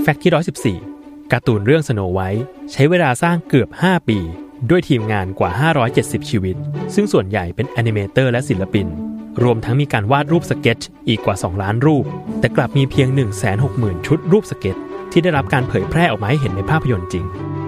แฟกต์ที่114การ์ตูนเรื่อง Snow White ใช้เวลาสร้างเกือบ5ปีด้วยทีมงานกว่า570ชีวิตซึ่งส่วนใหญ่เป็นแอนิเมเตอร์และศิลปินรวมทั้งมีการวาดรูปสเก็ตช์อีกกว่า2ล้านรูปแต่กลับมีเพียง 160,000 ชุดรูปสเก็ตที่ได้รับการเผยแพร่ออกมาให้เห็นในภาพยนตร์จริง